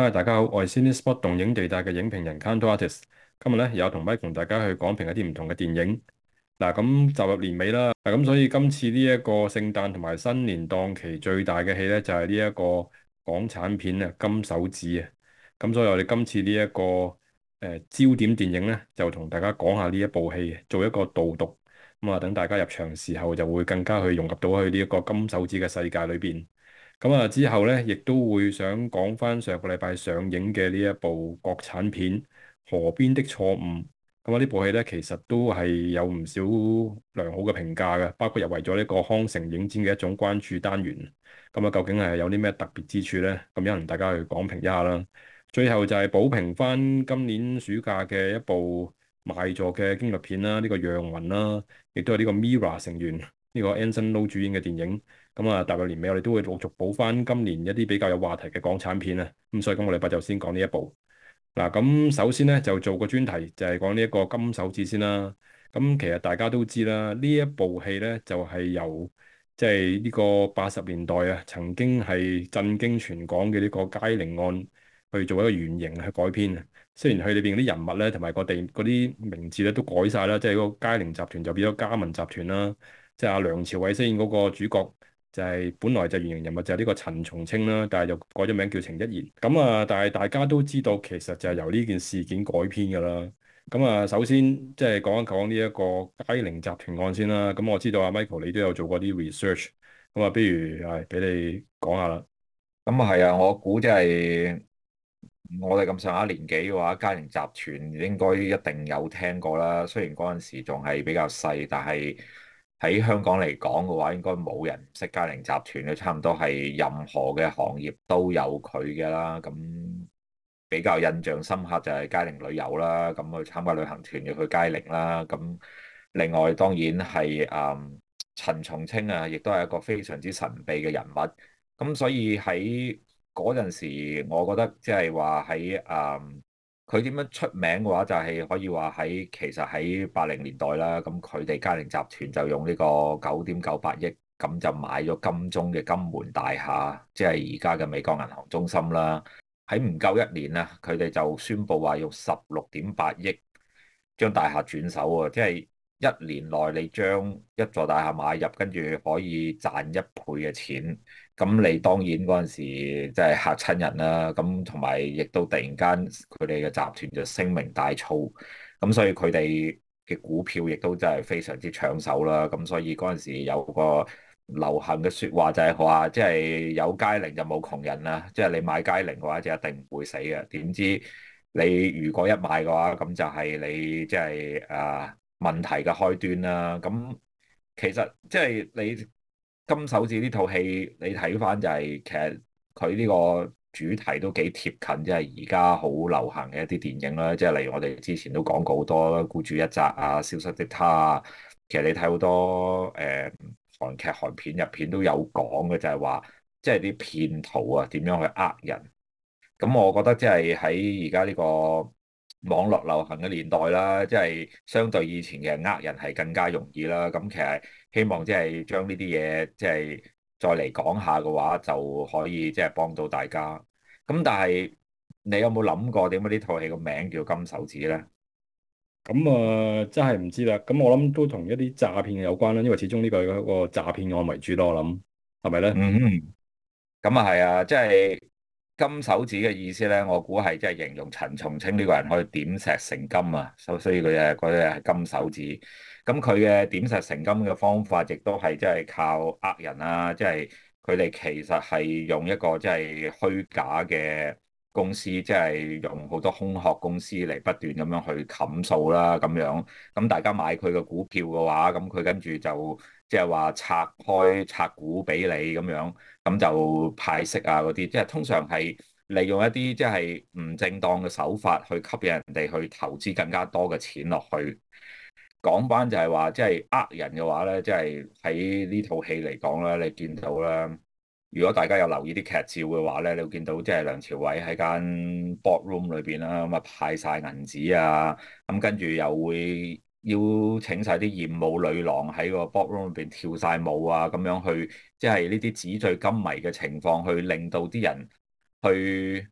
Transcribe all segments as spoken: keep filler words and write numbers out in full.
嗨，大家好，我係 Cinespot 動映地帶嘅影評人 Kantorates。今日咧有同 Mike 同大家去講評一啲唔同嘅電影。嗱，咁就入年尾啦，嗱咁所以今次呢一個聖誕同埋新年檔期最大嘅戲咧就係呢一個港產片啊《金手指》啊。咁所以我哋今次呢、這、一個誒、呃、焦點電影咧就同大家講下呢一部戲，做一個導讀。咁啊，等大家入場時候就會更加去融入到去呢一個金手指嘅世界裏邊。咁啊，之後咧，亦都會想講翻上個禮拜上映嘅呢一部國產片《河邊的錯誤》。咁啊，呢部戲咧，其實都係有唔少良好嘅評價嘅，包括入圍咗呢個康城影展嘅一種關注單元。咁啊，究竟係有啲咩特別之處咧？咁有同大家去講評一下啦。最後就係補評翻今年暑假嘅一部賣座嘅驚慄片啦，呢、這個《讓魂》啦，亦都係呢個 Mirror 成員呢、這個 Anson Lo 主演嘅電影。咁啊，踏入年尾，我哋都會陸續補翻今年一啲比較有話題嘅港產片啊。咁所以今個禮拜就先講呢一部。嗱，咁首先咧就做個專題，就係講呢一個金手指先啦。咁其實大家都知啦，呢一部戲咧就係由即係呢個八十年代啊，曾經係震驚全港嘅呢個佳寧案去做一個原型去改編啊。雖然佢裏邊啲人物咧同埋個地嗰啲名字咧都改晒啦，即係嗰個佳寧集團就變咗嘉文集團啦，即係阿梁朝偉飾演嗰個主角。就係本來就原型人物就係呢個陳松青啦，但係又改咗名叫程一言。咁啊，但係大家都知道其實就係由呢件事件改編㗎啦。咁啊，首先即係講一講呢一個佳寧集團案先啦。咁我知道阿 Michael 你都有做過啲 research，咁啊，不如係俾你講下啦。 咁啊係啊，我估即係我哋咁上下年紀嘅話，佳寧集團應該一定有聽過啦。雖然嗰陣時仲係比較細，但係喺香港嚟講嘅話，應該冇人唔識佳寧集團嘅，差唔多係任何嘅行業都有佢嘅啦。咁比較印象深刻就係佳寧旅遊啦，咁去參加旅行團要去佳寧啦。咁另外當然係誒陳松青啊，亦都係一個非常之神秘嘅人物。咁所以喺嗰陣時，我覺得即係話喺誒佢點樣出名嘅話，就係可以話喺其實喺八零年代啦。咁佢哋佳寧集團就用呢個九點九八億咁就買咗金鐘嘅金門大廈，即係而家嘅美國銀行中心啦。喺唔夠一年啊，佢哋就宣布話用十六點八億將大廈轉手啊，即係一年內你將一座大廈買入，跟住可以賺一倍嘅錢。咁你當然嗰陣時即係嚇親人啦。咁同埋亦都突然間佢哋嘅集團就聲名大噪，咁所以佢哋嘅股票亦都真係非常之搶手啦。咁所以嗰陣時有個流行嘅説話就係話，即係有佳寧就冇窮人啦。即係你買佳寧嘅話就一定唔會死嘅。點知你如果一買嘅話，咁就係你即係誒問題嘅開端啦。咁其實即係你金手指呢套戲，你睇翻就係其實佢呢個主題都幾貼近，即係而家好流行嘅一啲電影啦。即係例如我哋之前都講過好多孤注一擲啊、消失的她啊。其實你睇好多誒、呃、韓劇、韓片入片都有講嘅，就係話即係啲騙徒啊點樣去呃人。咁我覺得即係喺而家呢個網絡流行嘅年代啦，即係相對以前嘅呃人係更加容易啦。咁其實希望即係將呢啲嘢即係再嚟講下嘅話，就可以即係幫到大家。咁但係你有冇諗過點解呢套戲個名叫金手指咧？ 咁啊，真係唔知啦。咁我諗都同一啲詐騙有關啦，因為始終呢個係一個詐騙案為主咯。我諗係咪咧？ 嗯。咁啊係啊，即係金手指嘅意思咧，我估係即係形容陳松青呢個人可以點石成金啊，所所以佢誒嗰啲係金手指。咁佢嘅點石成金嘅方法，亦都係即係靠呃人啊，即係佢哋其實係用一個即係虛假嘅公司，即係用好多空殼公司嚟不斷咁樣去冚數啦，咁樣。咁大家買佢嘅股票嘅話，咁佢跟住就即係話拆開拆股俾你咁樣。咁就派息啊嗰啲，即係通常係利用一啲即係唔正當嘅手法去吸引人哋去投資更加多嘅錢落去。講翻就係話，即係呃人嘅話咧，即係喺呢套戲嚟講咧，你見到啦。如果大家有留意啲劇照嘅話咧，你會見到即係梁朝偉喺間 boardroom 裏邊啦，咁啊派晒銀紙啊，咁跟住又會邀請晒啲艷舞女郎喺個 boardroom 裏邊跳晒舞啊，咁樣去即係呢啲紙醉金迷嘅情況，去令到啲人去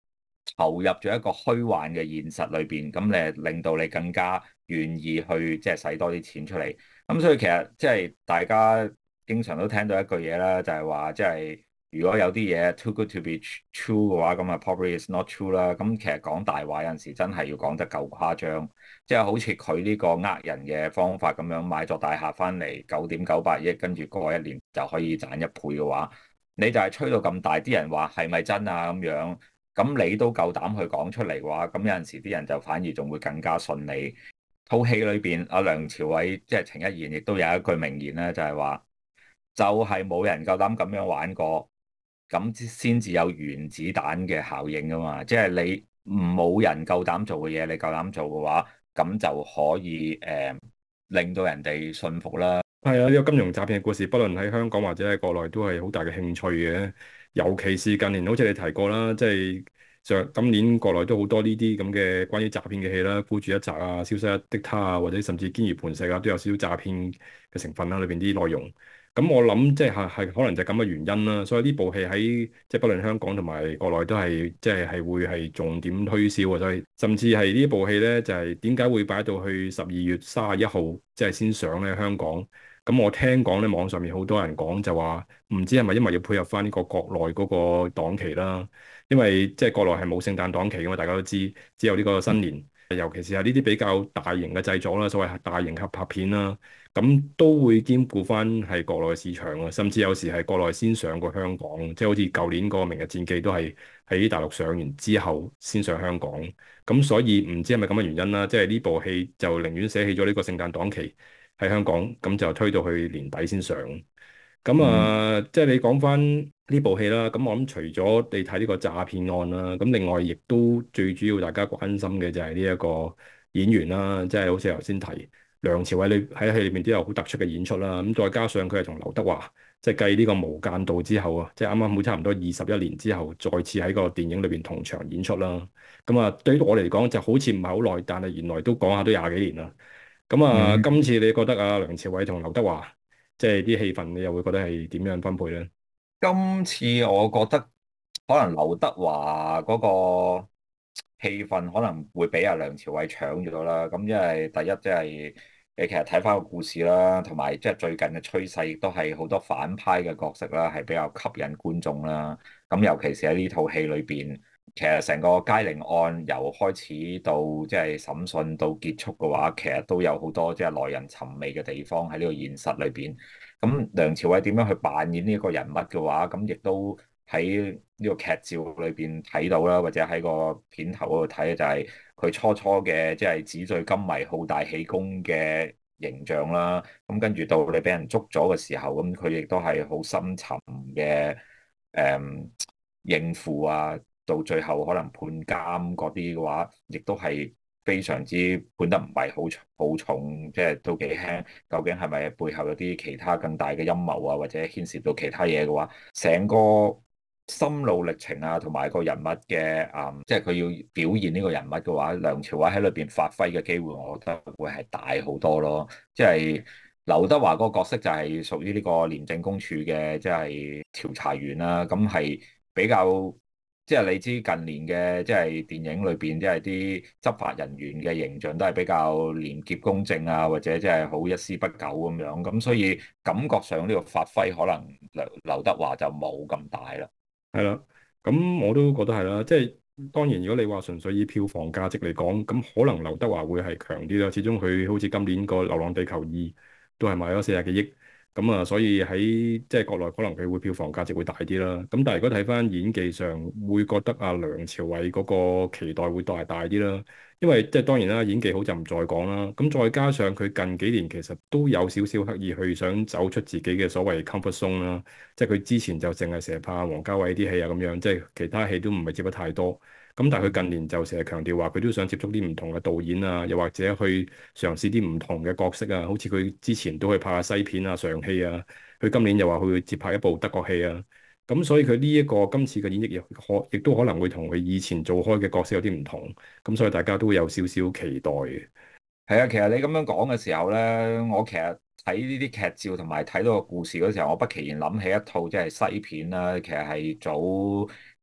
投入咗一個虛幻嘅現實裏邊，咁你令到你更加願意去即係使多啲錢出嚟。咁所以其實即係大家經常都聽到一句嘢啦，就係話即係如果有啲嘢 too good to be true 嘅話，咁啊 probably is not true 啦。咁其實講大話有陣時真係要講得夠誇張，即係好似佢呢個呃人嘅方法咁樣，買咗大廈翻嚟九點九八億，跟住過一年就可以賺一倍嘅話，你就係吹到咁大，啲人話係咪真啊咁樣？咁你都夠膽去講出嚟嘅話，咁有陣時啲人就反而仲會更加信你。套戲裏邊，阿梁朝偉即係程一言，亦都有一句名言咧，就係話，就係冇人夠膽咁樣玩過，咁先至有原子彈嘅效應噶嘛。即係你唔冇人夠膽做嘅嘢，你夠膽做嘅話，咁就可以誒、呃、令到人哋信服啦。 係啊，呢個金融詐騙嘅故事，不論喺香港或者喺國內，都係好大嘅興趣嘅。尤其是近年，好似你提過啦，即係上今年國內都好多呢啲咁嘅關於詐騙嘅戲啦，孤注一擲啊、消失的她啊，或者甚至堅如磐石啊，都有少少詐騙嘅成分啦，裏邊啲內容。咁我諗即係係係可能就係咁嘅原因啦。所以呢部戲喺即係不論香港同埋國內都係即係係會係重點推銷啊。所以甚至係呢部戲咧，就係點解會擺到去十二月三十一號即係先上咧香港？咁我聽講咧，網上面好多人講就話，唔知係咪因為要配合翻呢個國內嗰個檔期啦？因為即係國內係冇聖誕檔期嘅嘛，大家都知，只有呢個新年。尤其是係呢啲比較大型嘅製作啦，所謂大型合拍片啦，咁都會兼顧翻係國內嘅市場啊，甚至有時係國內先上過香港，即係好似舊年嗰個《明日戰記》都係喺大陸上完之後先上香港。咁所以唔知係咪咁嘅原因啦？即係呢部戲就寧願捨棄咗呢個聖誕檔期喺香港，咁就推到去年底先上。咁嗯啊，即係你講翻呢部戲啦。咁我諗除咗你睇呢個詐騙案啦，咁另外亦都最主要大家關心嘅就係呢一個演員啦。即係好似頭先提梁朝偉，你喺戲裏面都有好突出嘅演出啦。咁再加上佢係同劉德華，即係繼呢個無間道之後啊，即係啱啱好差唔多二十一年之後，再次喺個電影裏邊同場演出啦。咁啊，對於我嚟講就好似唔係好耐，但係原來都講下都廿幾年啦。咁啊， 嗯。 今次你覺得啊，梁朝偉同劉德華即係啲戲份，你又會覺得係點樣分配咧？ 今次我覺得可能劉德華嗰個戲份可能會俾阿梁朝偉搶咗啦。咁因為第一即係你其實睇翻個故事啦，同埋即係最近嘅趨勢亦都係好多反派嘅角色啦，係比較吸引觀眾啦。咁尤其是喺呢套戲裏邊，其實成個佳寧案由開始到即係審訊到結束嘅話，其實都有好多即係耐人尋味嘅地方喺呢個現實裏邊。咁梁朝偉點樣去扮演呢一個人物嘅話，咁亦都喺呢個劇照裏邊睇到啦，或者喺個片頭嗰度睇，就係佢初初嘅即係紙醉金迷、好大喜功嘅形象啦。咁跟住到你俾人捉咗嘅時候，咁佢亦都係好深沉嘅誒應付啊，到最後可能判監嗰啲嘅話，亦都係非常之判得唔係好重好重，即係都幾輕。究竟係咪背後有啲其他更大嘅陰謀啊，或者牽涉到其他嘢嘅話，成個心路歷程啊，同埋個人物嘅啊，即係佢要表現呢個人物嘅話，梁朝偉喺裏邊發揮嘅機會，我覺得會係大好多咯。即係劉德華嗰個角色就係屬於呢個廉政公署嘅，即係調查員啦，咁係比較。即係你知近年嘅即係電影裏邊，即係啲執法人員嘅形象都係比較廉潔公正啊，或者即係好一絲不苟咁樣，咁所以感覺上呢個發揮可能劉劉德華就冇咁大啦。 係啦，咁我都覺得係啦。即係當然，如果你話純粹以票房價值嚟講，咁可能劉德華會係強啲啦。始終佢好似今年個《流浪地球二》都係賣咗四十幾億。咁啊，所以喺即係國內可能佢會票房價值會大啲啦。咁但係如果睇翻演技上，會覺得阿梁朝偉嗰個期待會大大啲啦。因為即係當然啦，演技好就唔再講啦。咁再加上佢近幾年其實都有少少刻意去想走出自己嘅所謂 comfort zone 啦。即係佢之前就淨係成日拍王家衛啲戲啊咁樣，即係其他戲都唔係接得太多。咁但係佢近年就成日強調話，佢都想接觸啲唔同嘅導演啊，又或者去嘗試啲唔同嘅角色啊。好似佢之前都去拍下西片啊、上戲啊。佢今年又話佢會接拍一部德國戲啊。咁所以佢呢一個今次嘅演繹亦可亦都可能會同佢以前做開嘅角色有啲唔同。咁所以大家都會有少少期待嘅。 係啊，其實你咁樣講嘅時候咧，我其實睇呢啲劇照同埋睇到個故事嗰時候，我不期然諗起一套即係西片啦。其實係早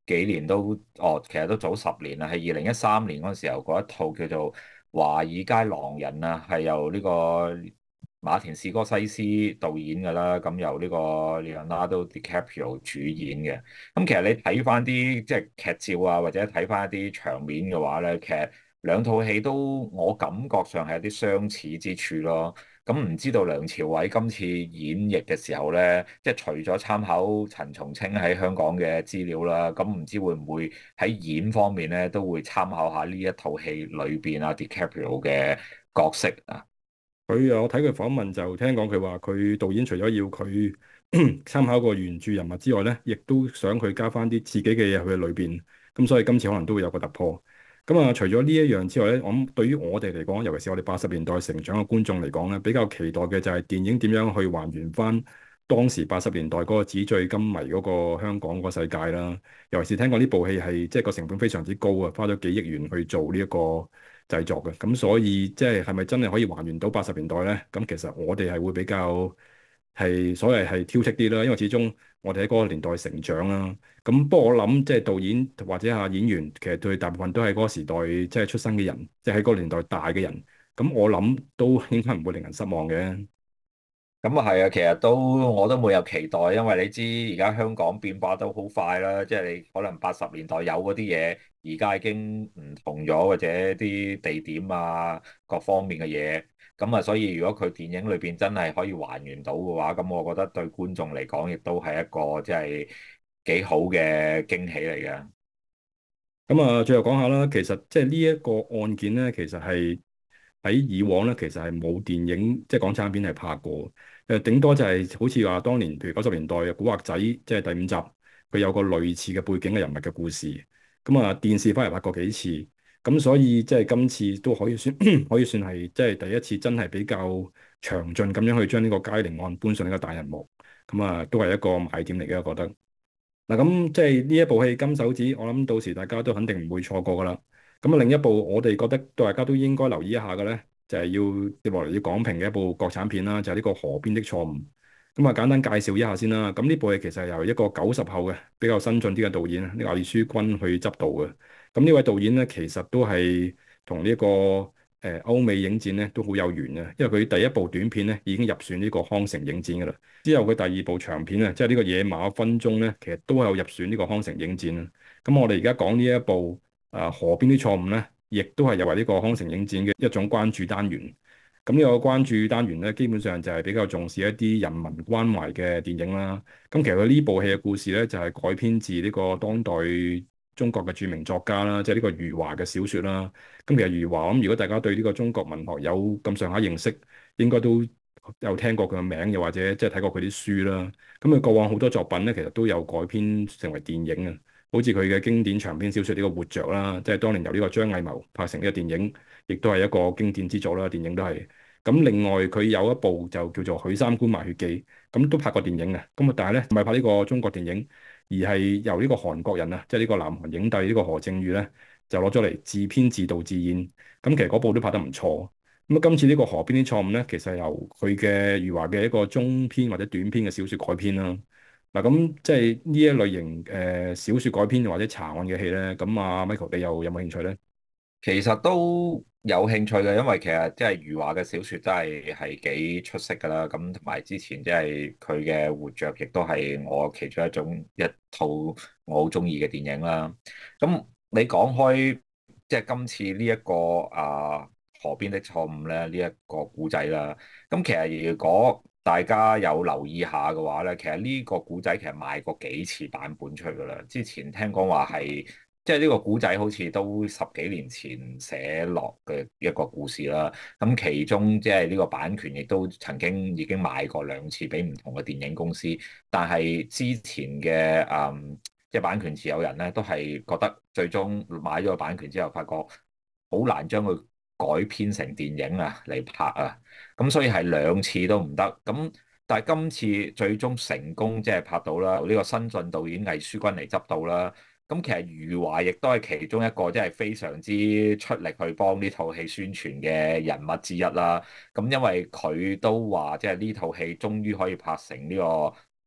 幾年都哦，其實都早十年啦，係二零一三年嗰陣時候嗰一套叫做《華爾街狼人》啊，係由呢個馬田史哥西斯導演㗎啦，咁由呢個 Leonardo DiCaprio 主演嘅。咁其實你睇翻啲即係劇照啊，或者睇翻一啲場面嘅話咧，其實兩套戲都我感覺上係有啲相似之處咯。咁唔知道梁朝偉今次演繹嘅時候咧，即係除咗參考陳松青喺香港嘅資料啦，咁唔知會唔會喺演方面咧都會參考下呢一套戲裏邊啊 DiCaprio 嘅角色啊。 佢啊，我睇佢訪問就聽講佢話，佢導演除咗要佢參考個原著人物之外咧，亦都想佢加翻啲自己嘅嘢去裏邊。咁所以今次可能都會有個突破。咁啊，除咗呢一樣之外咧，我諗對於我哋嚟講，尤其是我哋八十年代成長嘅觀眾嚟講咧，比較期待嘅就係電影點樣去還原翻當時八十年代嗰個紙醉金迷嗰個香港嗰個世界啦。尤其是聽講呢部戲係即係個成本非常之高啊，花咗幾億元去做呢一個製作嘅。咁所以即係係咪真係可以還原到八十年代咧？咁其實我哋係會比較係所謂係挑剔啲啦，因為始終我哋喺嗰個年代成長啦。咁不過我諗即係導演或者啊演員，其實對大部分都係嗰個時代即係出生嘅人，即係喺嗰個年代大嘅人。咁我諗都應該唔會令人失望嘅。 咁啊係啊，其實都我都冇有期待，因為你知而家香港變化都好快啦，即係你可能八十年代有嗰啲嘢，而家已經唔同咗，或者啲地點啊各方面嘅嘢，咁啊，所以如果佢電影裏邊真係可以還原到嘅話，咁我覺得對觀眾嚟講亦都係一個即係幾好嘅驚喜嚟嘅。 咁啊，最後講下啦，其實即係呢一個案件咧，其實係喺以往咧，其實係冇電影即係港產片係拍過。誒，頂多就係好似話當年，譬如九十年代嘅《古惑仔》，即係第五集，佢有個類似嘅背景嘅人物嘅故事。咁啊，電視翻嚟拍過幾次，咁所以即係今次都可以算可以算係即係第一次真係比較詳盡咁樣去將呢個佳寧案搬上呢個大銀幕。咁啊，都係一個賣點嚟嘅，我覺得。嗱，咁即係呢一部戲《金手指》，我諗到時大家都肯定唔會錯過噶啦。咁啊，另一部我哋覺得大家都應該留意一下嘅咧，就係要接落嚟要講評嘅一部國產片啦，就係呢個《河邊的錯誤》。咁啊，簡單介紹一下先啦。咁呢部戲其實係由一個九十後嘅比較新進啲嘅導演呢個魏書君去執導嘅。咁呢位導演咧，其實都係同呢個誒歐美影展咧都好有緣嘅，因為佢第一部短片咧已經入選呢個康城影展噶啦。之後佢第二部長片啊，即係呢個野馬分鬃咧，其實都有入選呢個康城影展啊。咁我哋而家講呢一部啊河邊的錯誤咧，亦都係入圍呢個康城影展嘅一種關注單元。咁呢個關注單元咧，基本上就係比較重視一啲人民關懷嘅電影啦。咁其實佢呢部戲嘅故事咧，就係改編自呢個當代中國嘅著名作家啦，即係呢個余華嘅小説啦。咁其實余華，咁如果大家對呢個中國文學有咁上下認識，應該都有聽過佢嘅名，又或者即係睇過佢啲書啦。咁佢過往好多作品咧，其實都有改編成為電影啊。好似佢嘅經典長篇小説呢個《活着》啦，即係當年由呢個張藝謀拍成呢個電影，亦都係一個經典之作啦。電影都係。咁另外佢有一部就叫做《許三觀賣血記》，咁都拍過電影嘅。咁啊，但係咧唔係拍呢個中國電影，而係由呢個韓國人啊，即係呢個南韓影帝呢個何正宇咧，就攞咗嚟自編自導自演。咁其實嗰部都拍得唔錯。咁啊，今次呢個河邊啲錯誤咧，其實係由佢嘅余華嘅一個中篇或者短篇嘅小説改編啦。嗱，咁即係呢一類型誒、呃、小説改編或者查案嘅戲咧，咁啊 Michael 你又有冇興趣咧？ 其實都有興趣嘅，因為其實即係余華嘅小説真係係幾出色㗎啦。咁同埋之前即係佢嘅《活着》，亦都係我其中一種一套我好中意嘅電影啦。咁你講開即係今次呢、這、一個啊河邊的錯誤咧，呢、這、一個故仔啦。咁其實如果大家有留意下嘅話咧，其實呢個故仔其實賣過幾次版本出去㗎啦。之前聽講話係。即係呢個古仔好似都十幾年前寫落嘅一個故事啦。咁其中即係呢個版權亦都曾經已經買過兩次俾唔同嘅電影公司，但係之前嘅誒即係版權持有人咧都係覺得最終買咗個版權之後，發覺好難將佢改編成電影啊嚟拍啊。咁所以係兩次都唔得。咁但係今次最終成功即係拍到啦，由呢個新晉導演魏書君嚟執導啦。咁其實余華亦都係其中一個即係非常之出力去幫呢套戲宣傳嘅人物之一啦。咁因為佢都話即係呢套戲終於可以拍成呢個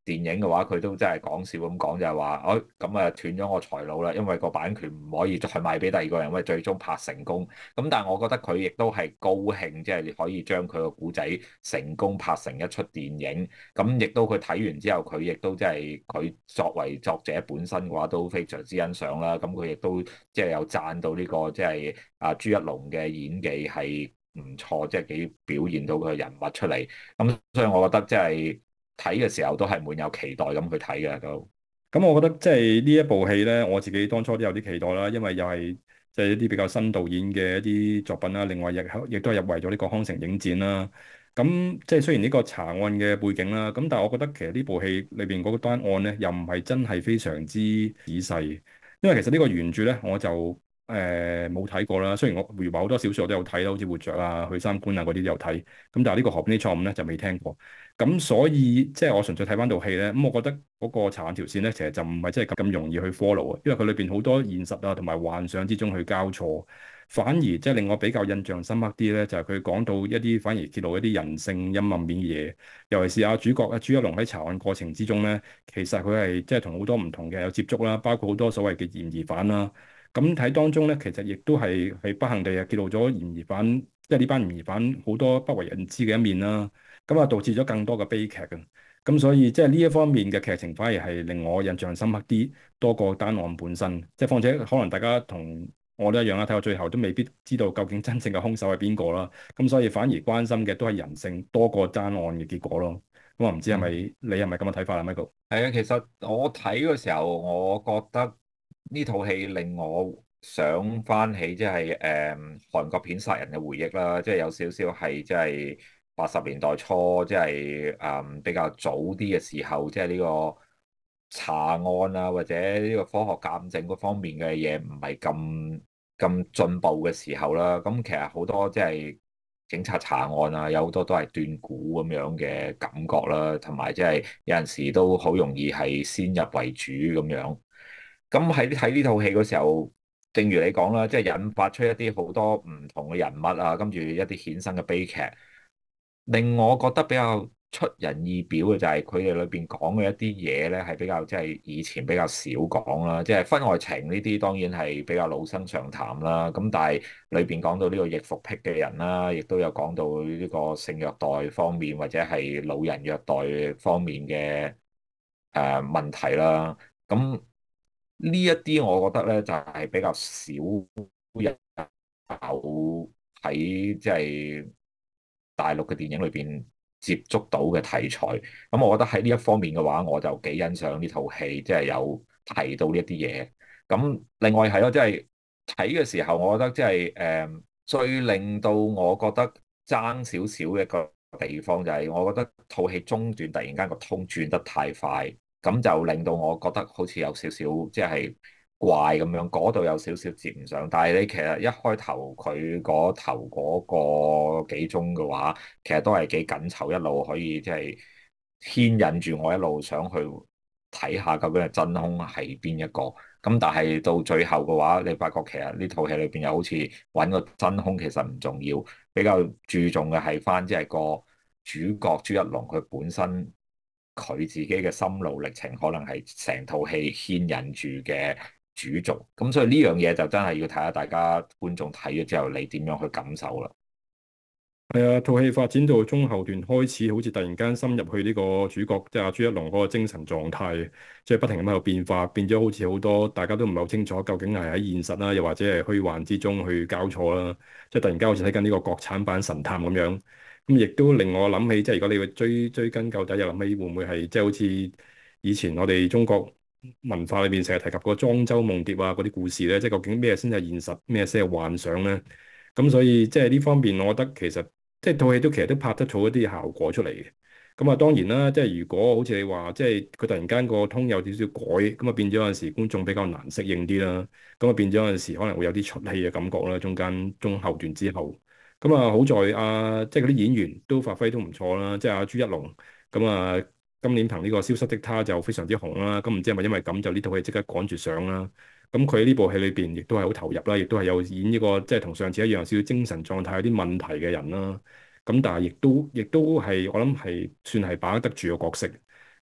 電影嘅話，佢都真係講笑咁講，就係話，哦咁啊斷咗我財路啦，因為個版權唔可以再賣俾第二個人，因為最終拍成功。咁但係我覺得佢亦都係高興，即係可以將佢個古仔成功拍成一出電影。咁亦都佢睇完之後，佢亦都即係佢作為作者本身嘅話，都非常之欣賞啦。咁佢亦都即係有讚到呢個即係阿朱一龍嘅演技係唔錯，即係幾表現到佢嘅人物出嚟。咁所以我覺得即係。睇嘅時候都係滿有期待咁去睇嘅都。 咁我覺得即係呢一部戲咧，我自己當初都有啲期待啦，因為又係即係一啲比較新導演嘅一啲作品啦。另外亦亦都係入圍咗呢個康城影展啦。咁即係雖然呢個查案嘅背景啦，咁但係我覺得其實呢部戲裏邊嗰個單案咧，又唔係真係非常之仔細。因為其實呢個原著咧，我就誒冇睇過啦。雖然我回話好多小說我都有睇啦，好似活着啊、去三觀啊嗰啲都有睇。咁但係呢個河邊的錯誤咧就未聽過。咁所以即係我純粹睇翻套戲咧，咁我覺得嗰個查案條線咧，其實就唔係真係咁咁容易去 follow 啊，因為佢裏邊好多現實啊同埋幻想之中去交錯，反而即係令我比較印象深刻啲咧，就係佢講到一啲反而揭露一啲人性陰暗面嘅嘢，尤其是阿主角阿朱一龍喺查案過程之中咧，其實佢係即係同好多唔同嘅有接觸啦，包括好多所謂嘅嫌疑犯啦，咁睇當中咧，其實亦都係係不幸地係揭露咗嫌疑犯，即係呢班嫌疑犯好多不為人知嘅一面啦。咁啊，導致咗更多嘅悲劇嘅，咁所以即係呢一方面嘅劇情反而係令我印象深刻啲，多過單案本身。即係況且可能大家同我都一樣啦，睇到最後都未必知道究竟真正嘅兇手係邊個啦。咁所以反而關心嘅都係人性多過單案嘅結果咯。咁我唔知係咪你係咪咁嘅睇法啊，Michael？ 係啊，其實我睇嘅時候，我覺得呢套戲令我想翻起即係誒韓國片殺人嘅回憶啦，即係有少少係即係八十年代初，即係誒比較早啲嘅時候，即係呢個查案啊或者呢個科學鑑證嗰方面嘅嘢唔係咁咁進步嘅時候啦。咁其實好多即係警察查案啊，有好多都係斷估咁樣嘅感覺啦，同埋即係有陣時都好容易係先入為主咁樣。咁喺睇呢套戲嗰時候，正如你講啦，即係引發出一啲好多唔同嘅人物啊，跟住一啲衍生嘅悲劇，令我覺得比較出人意表嘅就係佢哋裏邊講嘅一啲嘢咧，係比較即係以前比較少講啦，即係婚外情呢啲當然係比較老生常談啦。咁但係裏邊講到呢個易服癖嘅人啦，亦都有講到呢個性虐待方面或者係老人虐待方面嘅誒問題啦。咁呢一啲我覺得咧就係比較少人有喺即係大陸嘅電影裏邊接觸到嘅題材。咁我覺得喺呢一方面嘅話，我就幾欣賞呢套戲，即係有提到呢一啲嘢。咁另外係咯，即係睇嘅時候，我覺得即係誒最令到我覺得爭少少嘅一個地方就係，我覺得套戲中段突然間個通轉得太快。咁就令到我覺得好似有少少即係怪咁樣，嗰度有少少接唔上。但係你其實一開頭佢嗰頭嗰個幾鐘嘅話，其實都係幾緊湊，一路可以即係牽引住我一路想去睇下究竟係真兇係邊一個。咁但係到最後嘅話，你發覺其實呢套戲裏邊又好似揾個真兇其實唔重要，比較注重嘅係翻即係個主角朱一龍佢本身。佢自己嘅心路歷程，可能係成套戲牽引住嘅主軸，咁所以呢樣嘢就真係要睇下大家觀眾睇咗之後，你點樣去感受啦。 係啊，套戲發展到中後段開始，好似突然間深入去呢個主角，即係阿朱一龍嗰個精神狀態，即係不停咁喺度變化，變咗好似好多大家都唔係好清楚，究竟係喺現實啦，又或者係虛幻之中去交錯啦。即係突然間好似睇緊呢個國產版神探咁樣。咁亦都令我諗起，即係如果你會追追根究底，又諗起會唔會係即係好似以前我哋中國文化裏面成日提及過莊周夢蝶啊嗰啲故事咧，即係究竟咩先係現實，咩先係幻想咧？咁所以即係呢方面，我覺得其實即係套戲都其實都拍得出一啲效果出嚟嘅。咁啊，當然啦，即係如果好似你話，即係佢突然間個通有少少改，咁啊變咗有陣時觀眾比較難適應啲啦。咁啊變咗有陣時可能會有啲出戲嘅感覺啦，中間中後段之後。咁啊，好在啊，即係嗰啲演員都發揮都唔錯啦，即係阿朱一龍。咁啊，今年憑呢個消失的她就非常之紅啦。咁唔知係咪因為咁就呢套戲即刻趕住上啦？咁佢呢部戲裏邊亦都係好投入啦，亦都係有演呢個即係同上次一樣少少精神狀態有啲問題嘅人啦。咁但係亦都亦都係我諗係算係把握得住個角色。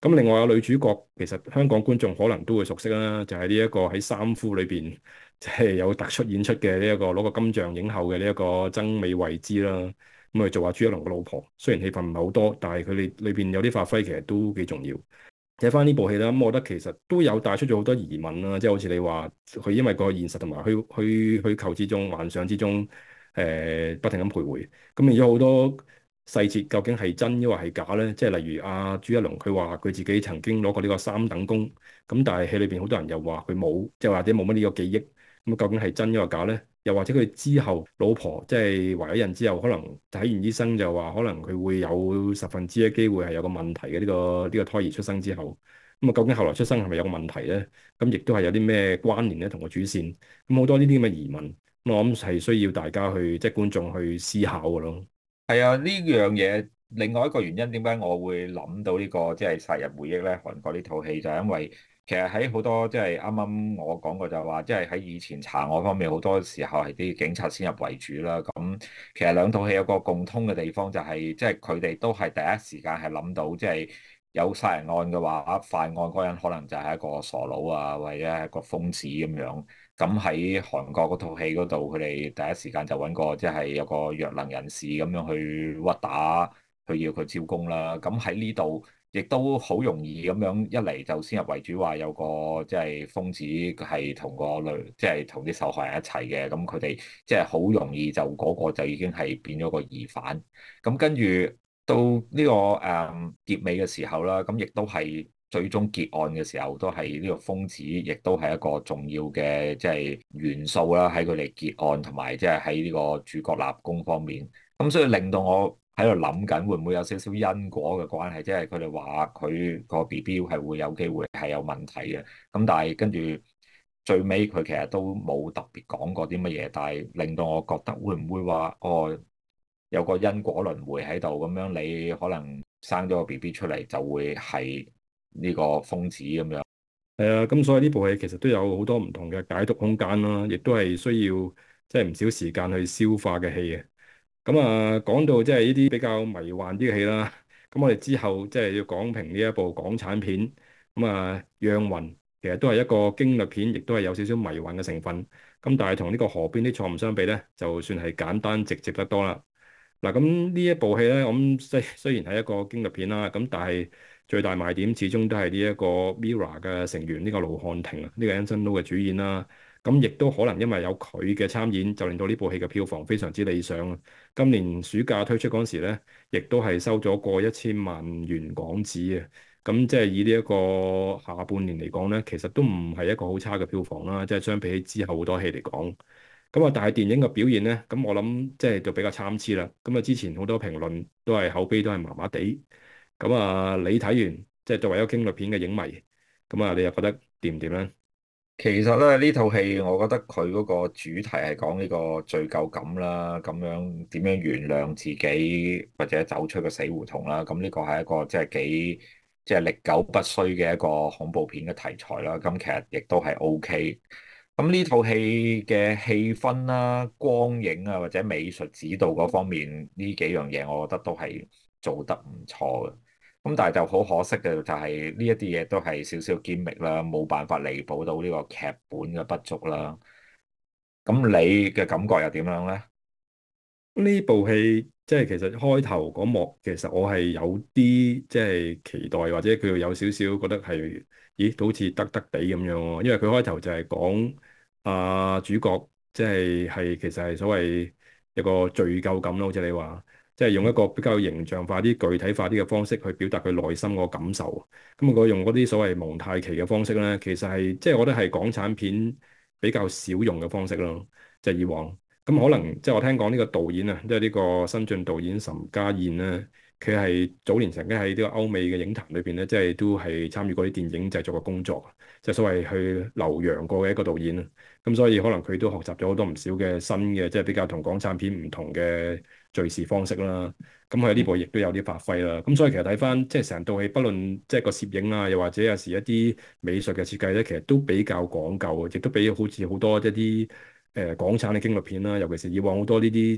咁另外有女主角，其實香港觀眾可能都會熟悉啦，就係呢一個喺三夫裏邊即係有突出演出嘅呢一個攞個金像影后嘅呢一個曾美慧孜啦。咁佢做阿朱一龍嘅老婆，雖然戲份唔係好多，但係佢哋裏邊有啲發揮其實都幾重要。睇翻呢部戲啦，咁我覺得其實都有帶出咗好多疑問啦，即係好似你話佢因為個現實同埋虛虛虛構之中、幻想之中，誒、呃、不停咁徘徊，咁變咗好多細節究竟係真抑或係假咧？即係例如阿朱一龍佢話佢自己曾經攞過呢個三等功，咁但係戲裏邊好多人又話佢冇，即係或者冇乜呢個記憶，咁究竟係真抑或假咧？又或者佢之後老婆即係懷咗孕之後，可能睇完醫生就話可能佢會有十分之一機會係有個問題嘅呢個呢個胎兒出生之後，咁啊究竟後來出生係咪有個問題咧？咁亦都係有啲咩關聯咧同個主線？咁好多呢啲咁嘅疑問，咁我諗係需要大家去即係觀眾去思考嘅咯。 係啊，呢樣嘢另外一個原因點解我會諗到呢個即係殺人回憶咧？韓國呢套戲就係因為其實喺好多即係啱啱我講過就係話，即係喺以前查案方面好多時候係啲警察先入為主啦。咁其實兩套戲有個共通嘅地方就係即係佢哋都係第一時間係諗到即係有殺人案嘅話，犯案嗰人可能就係一個傻佬啊，或者係一個瘋子咁樣。咁喺韓國嗰套戲嗰度，佢哋第一時間就揾個即係有個弱能人士咁樣去屈打，去要佢招供啦。咁喺呢度亦都好容易咁樣一嚟就先入為主，話有個即係瘋子係同個女，即係同啲受害人一齊嘅。咁佢哋即係好容易就嗰個就已經係變咗個疑犯。咁跟住到呢個誒結尾嘅時候啦，咁亦都係。最終結案嘅時候，都係呢個瘋子，亦都係一個重要嘅即係元素啦。喺佢哋結案同埋即係喺呢個主角立功方面，咁所以令到我喺度諗緊，會唔會有少少因果嘅關係？即係佢哋話佢個 B B 係會有機會係有問題嘅。咁但係跟住最尾佢其實都冇特別講過啲乜嘢，但係令到我覺得會唔會話哦，有個因果輪迴喺度咁樣，你可能生咗個 B B 出嚟就會係。呢個瘋子咁樣， 係啊，咁所以呢部戲其實都有好多唔同嘅解讀空間啦，亦都係需要即係唔少時間去消化嘅戲嘅。咁啊，講到即係呢啲比較迷幻啲嘅戲啦，咁我哋之後即係要講評呢一部港產片，咁啊，《釀魂》其實都係一個驚慄片，亦都係有少少迷幻嘅成分。咁但係同呢個河邊的錯誤相比咧，就算係簡單直接得多啦。嗱，咁呢一部戲咧，我諗雖雖然係一個驚慄片啦，咁但係最大賣點始終都係呢一個 Mirror 嘅成員呢個盧瀚霆啊，呢個 Anson Lo 嘅主演啦。咁亦都可能因為有佢嘅參演，就令到呢部戲嘅票房非常之理想啊。今年暑假推出嗰陣時咧，亦都係收咗過一千萬元港紙啊。咁即係以呢一個下半年嚟講咧，其實都唔係一個好差嘅票房啦。即係相比起之後好多戲嚟講。咁啊，但係電影嘅表現咧，咁我諗即係就比較參差啦。咁啊，之前好多評論都係口碑都係麻麻地。咁啊，你睇完即係作為一個驚慄片嘅影迷，咁啊，你又覺得掂唔掂咧？ 其實咧呢套戲，我覺得佢嗰個主題係講呢個罪疚感啦，咁樣點樣原諒自己或者走出個死胡同啦。咁呢個係一個即係幾即係歷久不衰嘅一個恐怖片嘅題材啦。咁其實亦都係 O K。咁呢套戲嘅氣氛啦、光影啊或者美術指導嗰方面呢幾樣嘢，我覺得都係做得唔錯嘅。咁但係就好可惜嘅就係呢一啲嘢都係少少 gimmick 啦，冇辦法彌補到呢個劇本嘅不足啦。咁你嘅感覺又點樣呢？ 呢部戲即係其實開頭嗰幕，其實我係有啲即係期待，或者佢有少少覺得係，咦，都好似得得地咁樣喎。因為佢開頭就係講啊主角即係係其實係所謂有個罪疚感咯，好似你話，即係用一個比較形象化啲、具體化啲嘅方式去表達佢內心個感受。咁佢用嗰啲所謂蒙太奇嘅方式咧，其實係即係我覺得係港產片比較少用嘅方式咯，即係以往。咁可能即係我聽講呢個導演啊，即係呢個新晉導演岑家燕咧，佢係早年曾經喺呢個歐美嘅影壇裏邊咧，即係都係參與過啲電影製作嘅工作，即係所謂去留洋過嘅一個導演啊。咁所以可能佢都學習咗好多唔少嘅新嘅，即係比較同港產片唔同嘅敘事方式啦。咁佢喺呢部亦都有啲發揮啦。咁所以其實睇翻即係成套戲，不論即係個攝影啊，又或者有時一啲美術嘅設計咧，其實都比較講究，亦都比好似好多一啲。誒、呃、港產嘅驚慄片啦，尤其是以往好多呢啲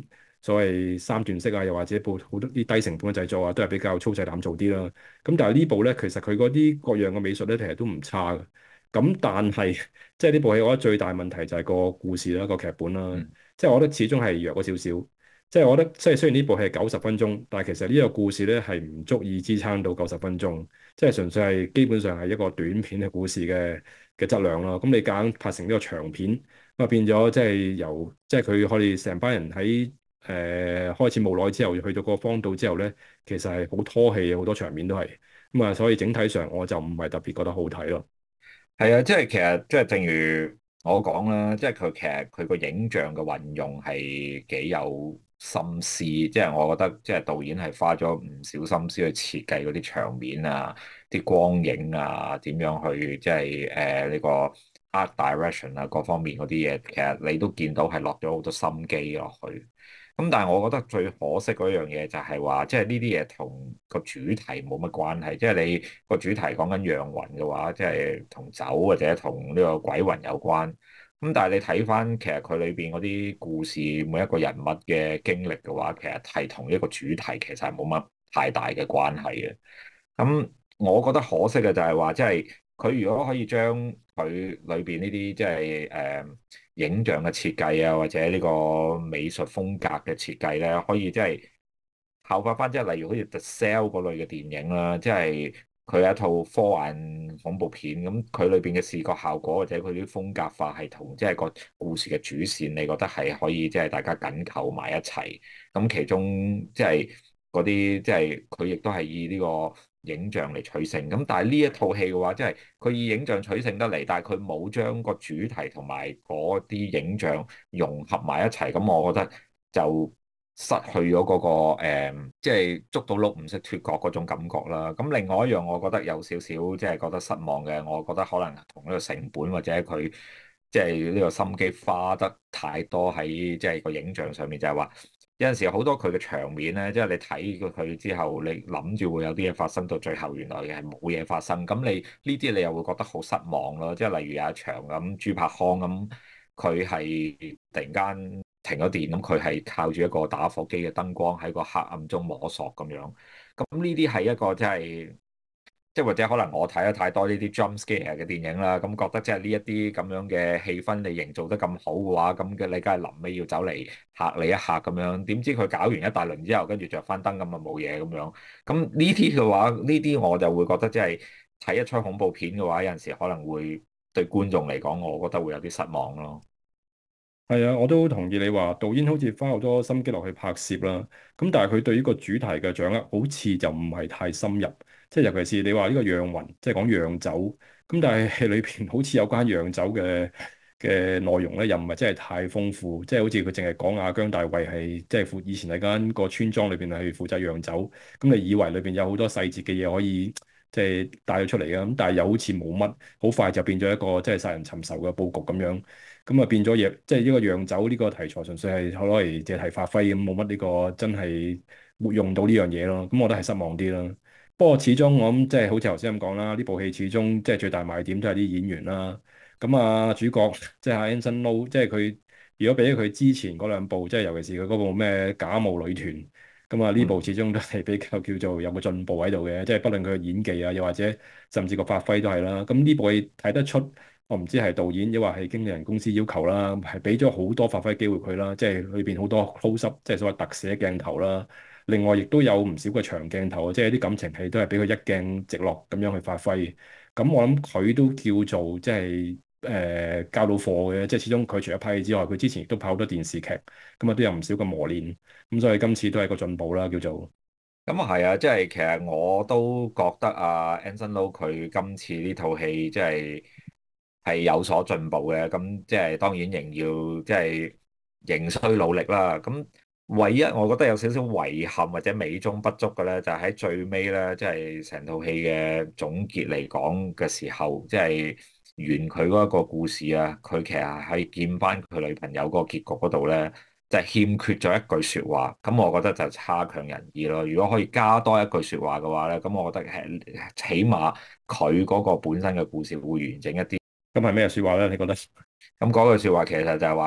所謂三段式啊，又或者部好多啲低成本嘅製作啊，都係比較粗製濫造啲啦。咁但係呢部咧，其實佢嗰啲各樣嘅美術咧，其實都唔差嘅。咁但係即係呢部戲，我覺得最大問題就係個故事啦，個劇本啦。 嗯， 即係我覺得始終係弱咗少少。即係我覺得，即係雖然呢部戲係九十分鐘，但係其實呢個故事咧係唔足以支撐到九十分鐘。即係純粹係基本上係一個短片嘅故事嘅嘅質量咯。咁你夾硬拍成呢個長片，咁啊變咗即係由即係佢可以成班人喺誒、呃、開始冇耐之後，去到個荒島之後咧，其實係好拖戲嘅，好多場面都係咁啊。所以整體上我就唔係特別覺得好睇咯。 係啊，即係其實即係正如我講啦，即係佢其實佢個影像嘅運用係幾有心思，即係我覺得即係導演係花咗唔少心思去設計嗰啲場面啊、啲光影啊、點樣去即係誒呢個 art direction 啊各方面嗰啲嘢，其實你都見到係落咗好多心機落去。咁但係我覺得最可惜嗰樣嘢就係話，即係呢啲嘢同個主題冇乜關係。即係你個主題講緊釀魂嘅話，即係同酒或者同呢個鬼魂有關。咁但係你睇翻其實佢裏邊嗰啲故事，每一個人物嘅經歷嘅話，其實係同一個主題其實係冇乜太大嘅關係嘅。咁我覺得可惜嘅就係話，即係佢如果可以將佢裏邊呢啲即係誒影像嘅設計啊，或者呢個美術風格嘅設計咧，可以即係效法翻，即係例如好似《The Cell》嗰類嘅電影啦，即係佢係一套科幻恐怖片，咁佢裏邊嘅視覺效果或者佢啲風格化係同即係個故事嘅主線，你覺得係可以即係大家緊扣埋一齊？咁其中即係嗰啲即係佢亦都係以呢個影像嚟取勝。咁但係呢一套戲嘅話，即係佢以影像取勝得嚟，但係佢冇將個主題同埋嗰啲影像融合埋一齊。咁我覺得就失去咗嗰個誒，即係捉到鹿唔識脫角嗰種感覺啦。咁另外一樣，我覺得有少少即係覺得失望嘅，我覺得可能同呢個成本或者佢即係呢個心機花得太多喺即係個影像上面，就係話有陣時好多佢嘅場面咧，即係你睇過佢之後，你諗住會有啲嘢發生，到最後原來嘅係冇嘢發生。咁你呢啲你又會覺得好失望咯。即係例如有一場咁朱柏康咁，佢係突然間停咗電，咁佢係靠住一個打火機嘅燈光喺個黑暗中摸索咁樣。咁呢啲係一個即係即係或者可能我睇得太多呢啲 jump scare 嘅電影啦，咁覺得即係呢一啲咁樣嘅氣氛你營造得咁好嘅話，咁嘅你梗係臨尾要走嚟嚇你一嚇咁樣。點知佢搞完一大輪之後，跟住着翻燈咁啊冇嘢咁樣。咁呢啲嘅話，呢啲我就會覺得即係睇一出恐怖片嘅話，有陣時可能會對觀眾嚟講，我覺得會有啲失望咯。 係啊，我都同意你話導演好似花好多心機落去拍攝啦，咁但係佢對呢個主題嘅掌握好似就唔係太深入，即係尤其是你話呢個釀魂，即係講釀酒，咁但係戲裏邊好似有關釀酒嘅嘅內容咧，又唔係真係太豐富，即係好似佢淨係講阿姜大衛係即係負以前喺間個村莊裏邊係負責釀酒，咁你以為裏邊有好多細節嘅嘢可以即係帶咗出嚟嘅，咁但係又好似冇乜，好快就變咗一個即係殺人尋仇嘅佈局咁樣。咁啊變咗嘢，即係呢個釀酒呢個題材，純粹係攞嚟借題發揮咁，冇乜呢個真係活用到呢樣嘢咯。咁我覺得係失望啲啦。不過始終我諗即係好似頭先咁講啦，呢部戲始終即係最大賣點都係啲演員啦。咁啊主角即係阿 Anson Lo，即係佢如果比起佢之前嗰兩部，即係尤其是佢嗰部咩假冒女團，咁啊呢部嗯。 始終都係比較叫做有個進步喺度嘅，即係不論佢嘅演技啊，又或者甚至個發揮都係啦。咁呢部戲睇得出。我唔知係導演，抑或係經理人公司要求啦，係俾咗好多發揮機會佢啦，即係裏邊好多 close up，即係所謂特寫鏡頭啦。另外，亦都有唔少嘅長鏡頭，即係啲感情戲都係俾佢一鏡直落咁樣去發揮。咁我諗佢都叫做即係誒交到貨嘅，即係始終佢除咗拍戲之外，佢之前亦都拍好多電視劇，咁啊都有唔少嘅磨練。咁所以今次都係個進步啦，叫做。 咁啊係啊，即係其實我都覺得啊 Anson Lo 佢今次呢套戲即係係有所進步嘅。咁即係當然仍要即係仍需努力啦。咁唯一我覺得有少少遺憾或者美中不足嘅咧，就係喺最尾咧，即係成套戲嘅總結嚟講嘅時候，即係完佢嗰一個故事啊，佢其實係見翻佢女朋友嗰個結局嗰度咧。就係欠缺咗一句説話，咁我覺得就差強人意咯。如果可以加多一句説話嘅話咧，咁我覺得係起碼佢嗰個本身嘅故事會完整一啲。 咁係咩説話咧？你覺得？ 咁嗰句説話其實就係話，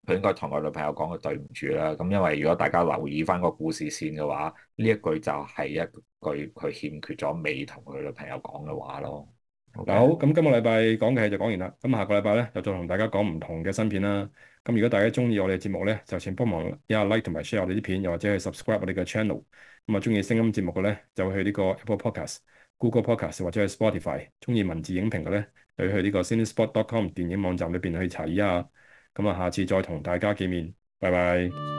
佢應該同佢女朋友講佢對唔住啦。咁因為如果大家留意翻個故事線嘅話，呢一句就係一句佢欠缺咗未同佢女朋友講嘅話咯。 嗱好， OK， 咁今個禮拜講嘅戲就講完啦。咁下個禮拜咧，就再同大家講唔同嘅新片啦。咁如果大家中意我哋嘅節目咧，就請幫忙一下 like 同埋 share 我哋啲片，又或者去 subscribe 我哋嘅 channel。咁啊，中意聲音節目嘅咧，就去呢個 Apple Podcast、Google Podcast 或者係 Spotify。中意文字影評嘅咧，就去呢個 cinespot dot com 電影網站裏邊去查一下。咁啊，下次再同大家見面，拜拜。